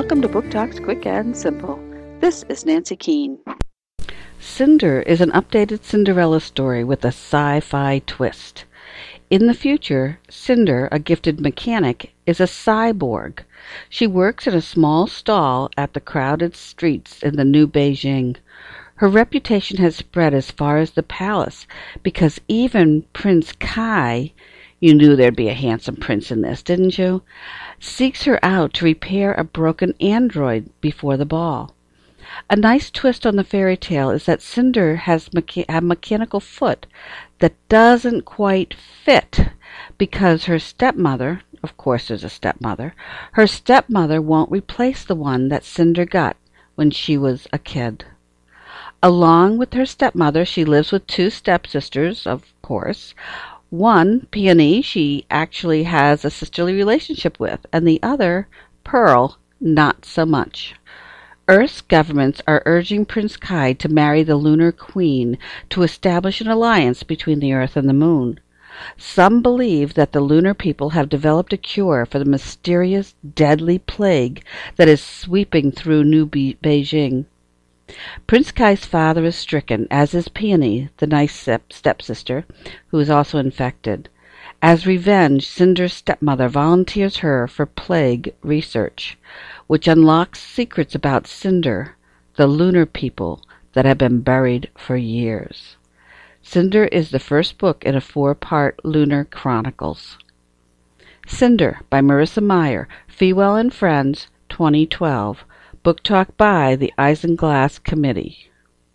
Welcome to Book Talks Quick and Simple. This is Nancy Keene. Cinder is an updated Cinderella story with a sci-fi twist. In the future, Cinder, a gifted mechanic, is a cyborg. She works in a small stall at the crowded streets in the new Beijing. Her reputation has spread as far as the palace because even Prince Kai, you knew there'd be a handsome prince in this, didn't you? Seeks her out to repair a broken android before the ball. A nice twist on the fairy tale is that Cinder has a mechanical foot that doesn't quite fit because her stepmother, of course there's a stepmother, her stepmother won't replace the one that Cinder got when she was a kid. Along with her stepmother, she lives with two stepsisters, of course. One, Peony, she actually has a sisterly relationship with, and the other, Pearl, not so much. Earth's governments are urging Prince Kai to marry the Lunar Queen to establish an alliance between the Earth and the Moon. Some believe that the lunar people have developed a cure for the mysterious, deadly plague that is sweeping through New Beijing. Prince Kai's father is stricken, as is Peony, the nice stepsister, who is also infected. As revenge, Cinder's stepmother volunteers her for plague research, which unlocks secrets about Cinder, the lunar people that have been buried for years. Cinder is the first book in a 4-part Lunar Chronicles. Cinder by Marissa Meyer, Fewell and Friends, 2012. Book Talk by the Isinglass Committee.